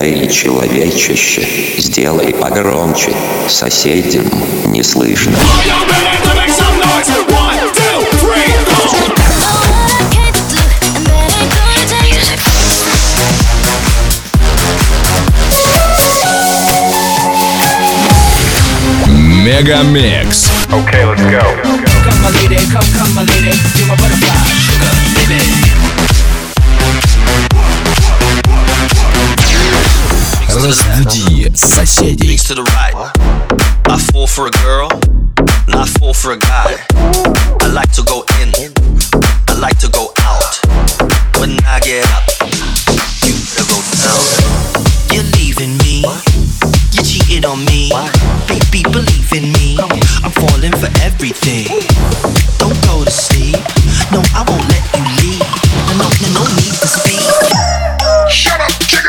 Эй, человечище, сделай погромче, соседям не слышно. Мегамикс. Okay, let's go. Come my lady, come my lady, you're my butterfly, sugar, baby. Разбуди соседей. To the right. I fall for a girl, and I fall for a guy. I like to go in, I like to go out. When I get up, you better go down. You're leaving me, you cheated on me. Baby, believe in me, I'm falling for everything. Don't go to sleep, no, I won't let you leave. No need to speak. Shut up, chicken.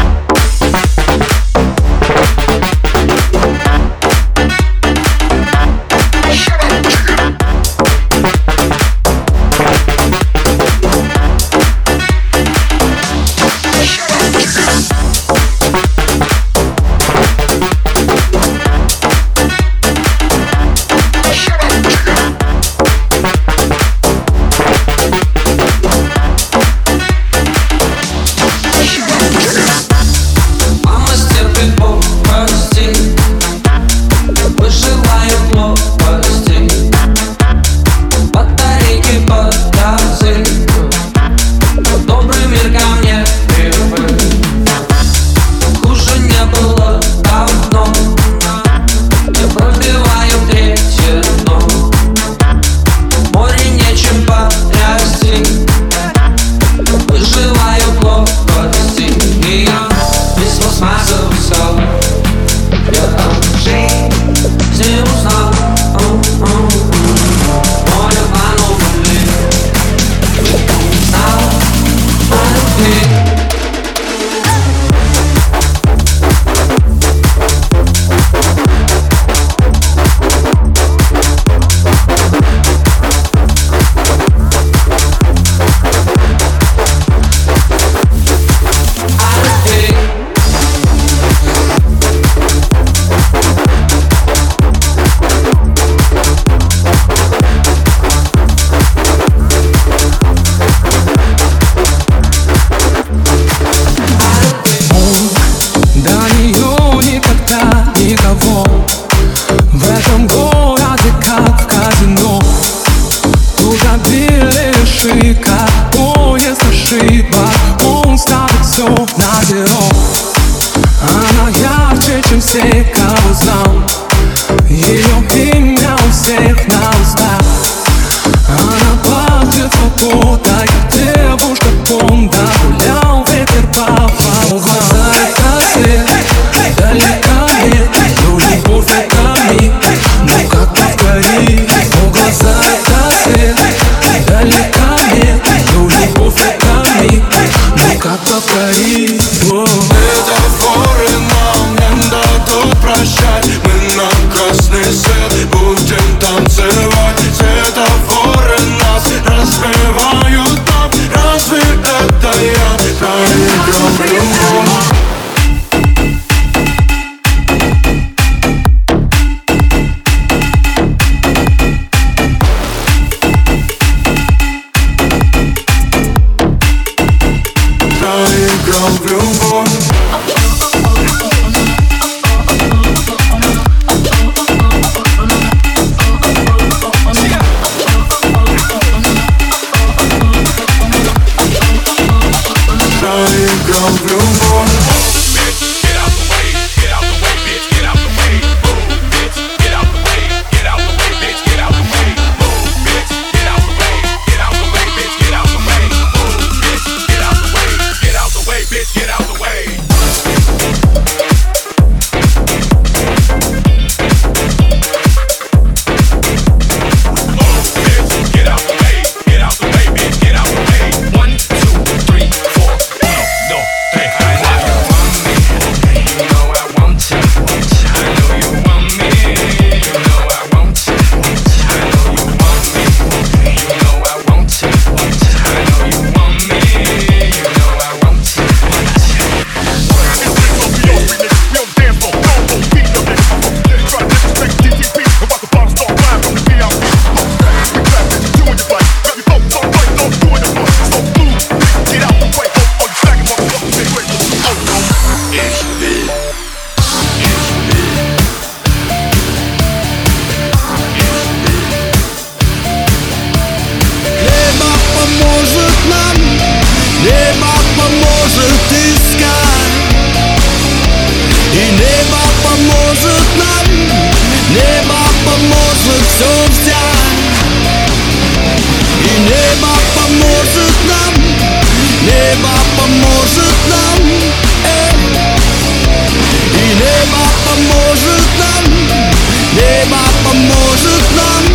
Метафоры нам не дадут прощать. Мы на красный свет будем танцевать. все взять. И небо поможет нам, небо поможет нам, и небо поможет нам, небо поможет нам,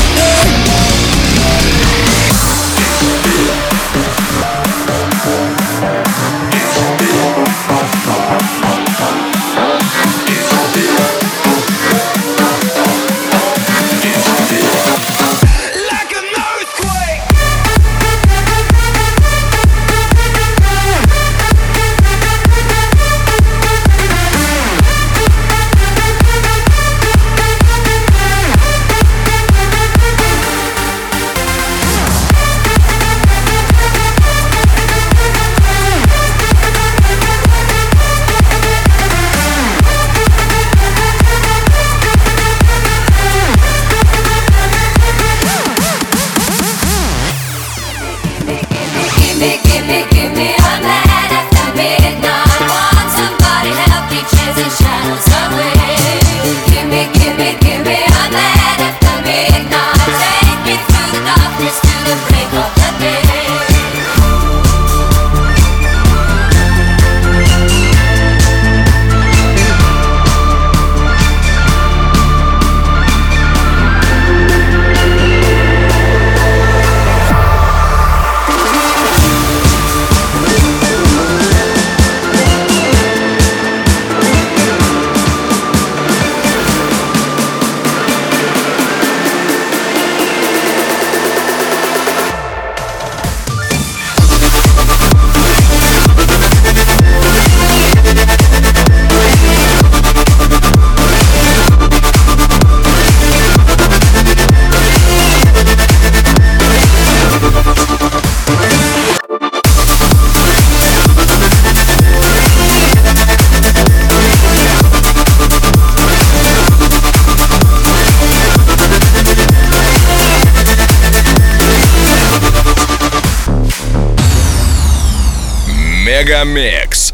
Мегамикс.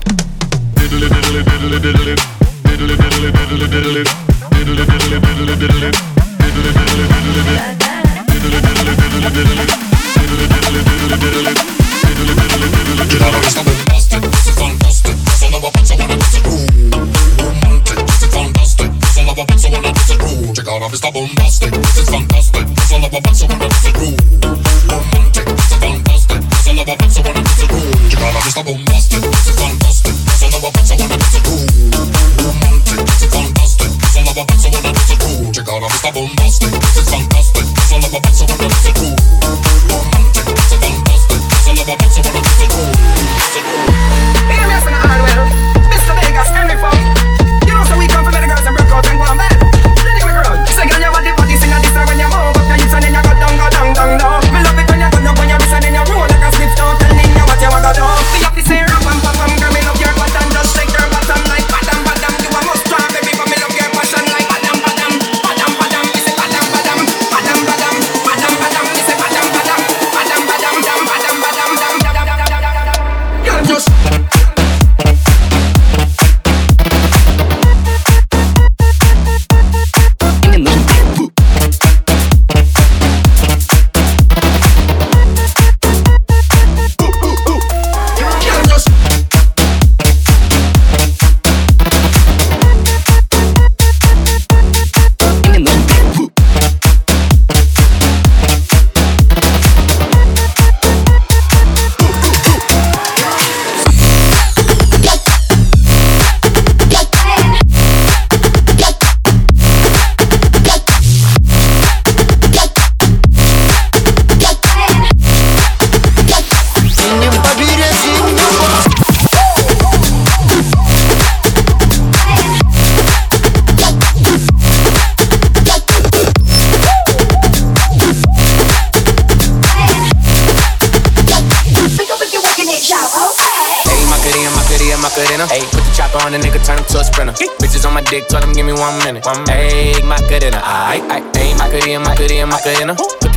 Ayy, put the chopper on the nigga, turn him to a sprinter. Bitches on my dick, told him give me 1 minute. Ayy, Macarena, ayy, ayy, Macarena, Macarena, Macarena. Put the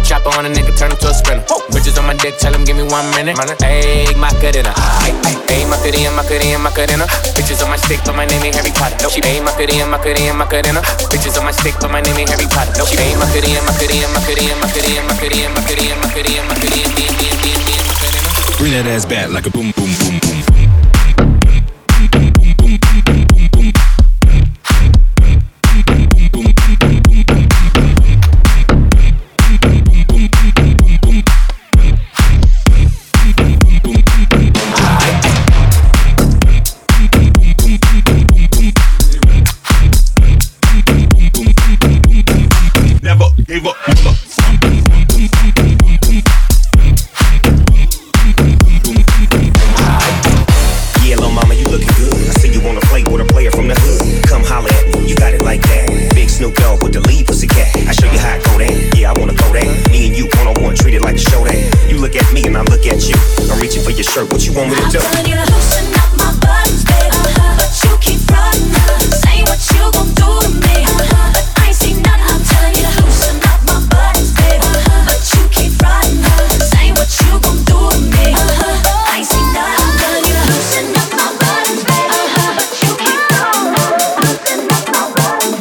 chopper on a nigga, turn him to a sprinter. Bitches on my dick, tell him give me 1 minute. Ayy, Macarena. Ayy, Macarena, Macarena, Macarena. Bitches on my stick, but my name ain't Harry Potter. She ayy, Macarena, Macarena, Macarena. Bitches on my stick, but my name ain't Harry Potter. She ayy, Macarena, Macarena, Macarena, Macarena, Macarena, Macarena, Macarena, Macarena. Bring that ass back like a boom, boom, boom, boom. What you want me to do? I'm telling you to loosen up my buttons, baby. But you keep running. Say what you gon' do to me. But I ain't seen none. I'm telling you to loosen up my buttons, baby. But you keep running. Say what you gon' do to me. I ain't seen none. I'm telling you to loosen up my buttons, baby. But you keep running. Loosen up my buttons,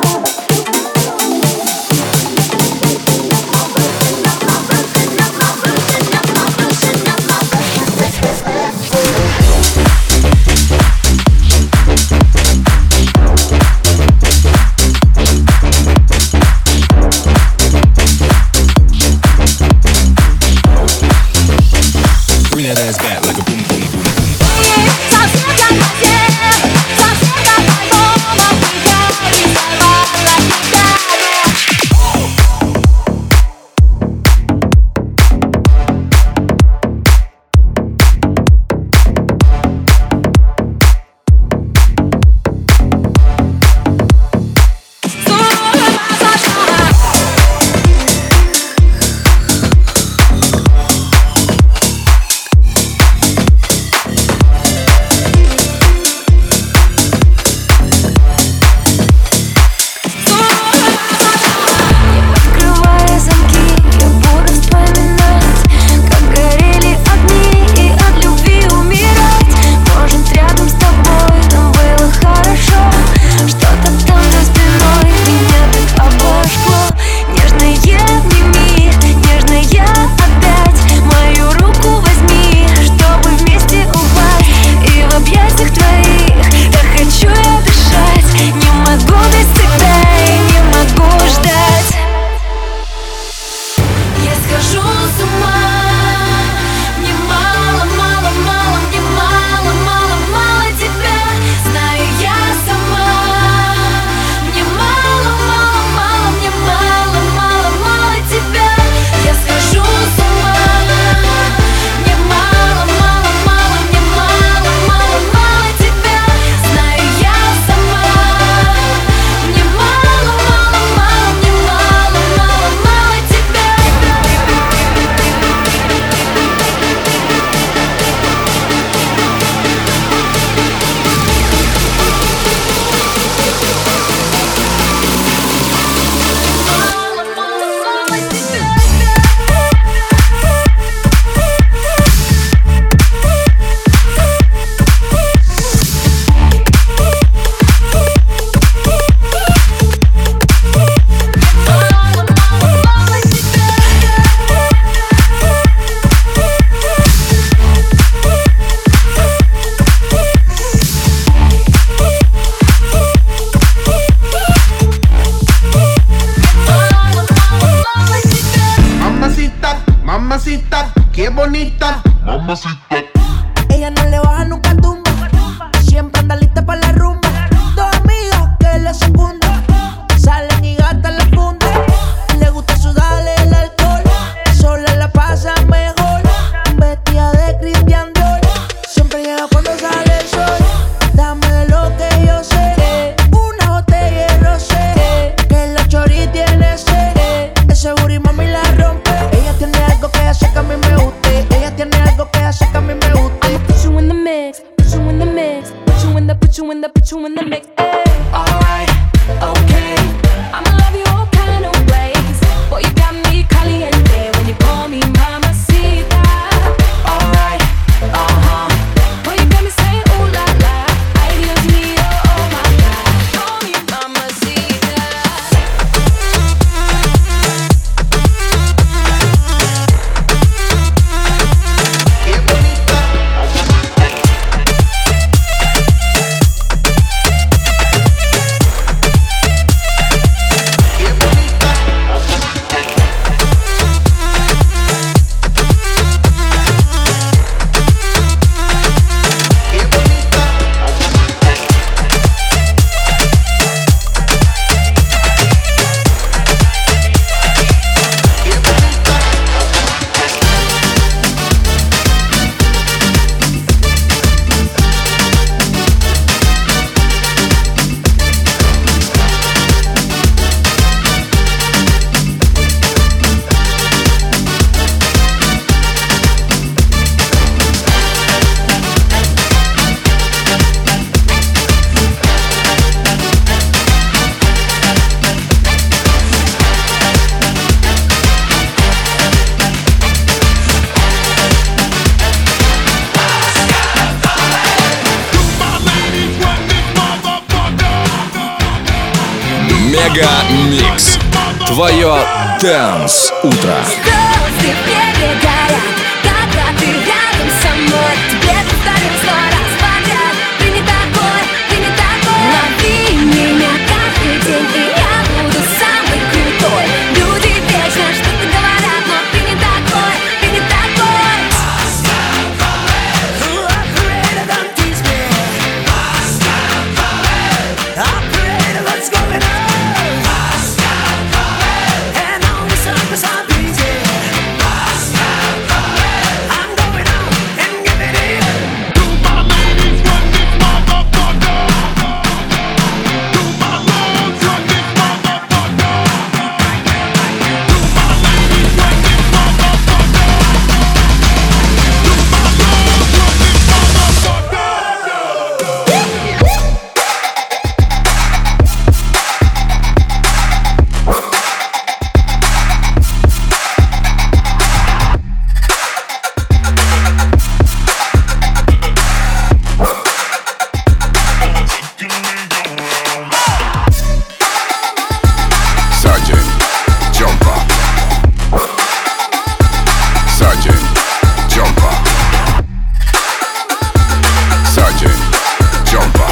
that ass back like a boom, boom, boom, boom. Mamacita, qué bonita. Mamacita. Ella no le baja nunca al tumba. Siempre anda lista para la rumba. Dos amigas que le secundan. Salen y gastan la funda. Le gusta sudarle el alcohol. Sola la pasa mejor. Vestida de Christian Dior. Siempre llega cuando sale el sol. Dame de lo que yo sé. Una botella de rosé. Que la chori tiene sed. Ese booty mami la rompe. Ella tiene algo que hace que a mí me guste. Ella tiene algo que hace que a mí me guste. Put you in the mix, put you in the mix, put you in the, put you in the, put you in the mix. Alright, okay. I'ma love you all kind of ways. Boy, you got me caliente. Мега Микс. Твое Dance утро. Звезды перегорят, когда ты рядом со мной. Тебе повторю 100 раз подряд. Ты не такой, ты не такой. Лови меня каждый день, и я буду самый крутой. Люди вечно что-то говорят, но ты не такой, ты не такой. Operator, don't teach me. Operator, what's going on? And all the circus I'm beating. I'm going out and giving it. To my ladies, run this motherfucker. To my lords, run this motherfucker. To my ladies, run this motherfucker. To my lords, run this motherfucker. Sergeant, jumper. Sergeant, jumper. Sergeant, jumper.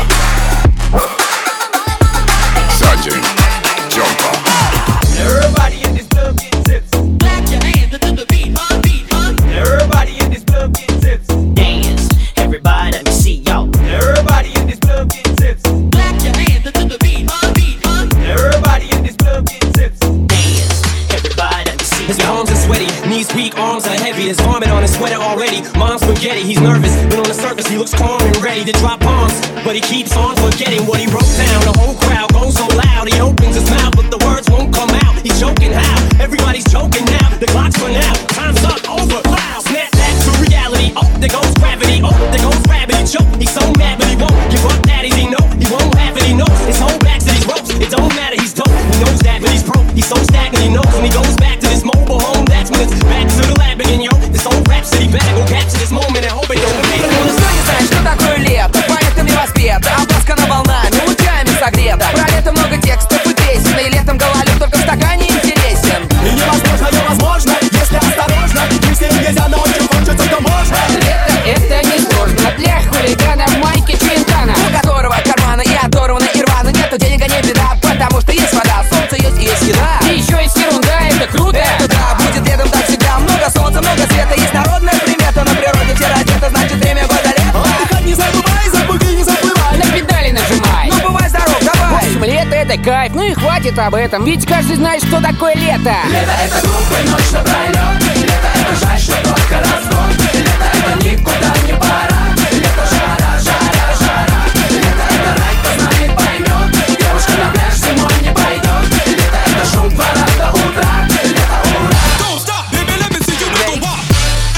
Sergeant, jumper. Everybody in this club getting tips. Clap your hands to the beat, beat, Everybody in this club getting tips. Dance, everybody let me see y'all. Everybody in this club getting tips. Clap your hands to the beat, beat, Everybody in this club getting tips. Dance, everybody let me see y'all. His palms are sweaty, knees weak, arms are heavy. His vomit on his sweater already. Mom's spaghetti, he's nervous, but on the surface he looks calm and ready to drop bombs. But he keeps on forgetting what he wrote down. The whole crowd goes so loud, he opens his mouth, but the words won't come out. He's joking how? Everybody's joking now. The clock's run out, time's up, over. Wow, snap back to reality. Oh, there goes gravity. Oh, there goes gravity. Choke. He's so mad, but he won't give up. Daddies, he know he won't have it. He knows his whole back to these ropes. It don't matter, he's dope. He knows that, but he's broke. He's so stagnant, he knows when he goes back to this mobile home. That's when it's back to the lab again, yo. This whole rhapsody better go capture this moment and hope it don't make it. Ну что не знаешь, что такое лето? Поэтому воспета, обласкана волнами, лучами согрета. Про лето много текстов и песен, и летом гололед только в стакане интересен. И невозможно, невозможно, если осторожно. Если нельзя, но очень хочется, то можно. Лето это не сложно для хулигана в майке Чвинтана, у которого карманы и оторваны и рваны. Нету денег, а не беда, потому что есть вода, солнце есть и есть еда. И еще есть ерунда, это круто. Это да, будет летом так всегда. Много солнца, много света, есть народная примета. На природе все одето, значит время года лето. Отдыхать не забывай, забыги не забывай. На педали нажимай. Ну бывай здоров, давай. В общем, лето это кайф, ну и хватит об этом. Ведь каждый знает, что такое лето. Лето это глупый ночь на пролет. Лето это жаль, что только разгон. Лето это никуда не пора. Лето жара, жара, жара. Лето это рай, кто знает, поймет. Девушка на пляж зимой не пойдет. Лето это шум двора до утра. Лето ура. Don't stop, baby, let me see you make a walk.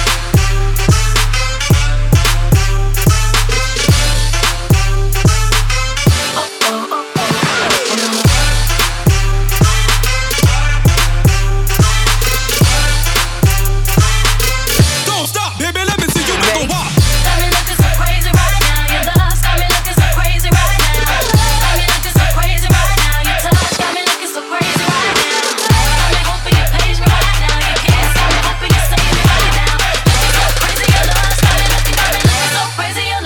Don't stop, baby, let me see you make a walk. Got me looking so crazy right now. Your love's got me looking so crazy right now. Got me looking so crazy right now. Your touch got me looking so crazy right now. Got me hoping you page me right now. Your kiss got me hoping you save me right now. Looking so crazy, your love's got me looking so crazy, your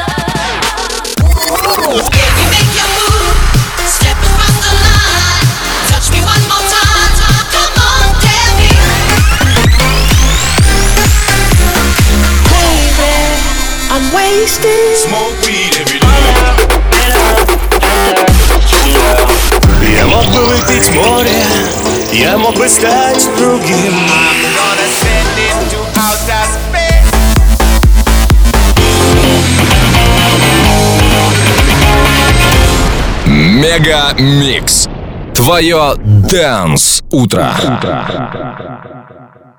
love. If you make your move, step across the line, touch me one more time. Come on, tell me. I'm wasted. Smoke weed every day. Я мог бы выпить море, я мог бы стать другим. Мега Микс. Твое Dance утро.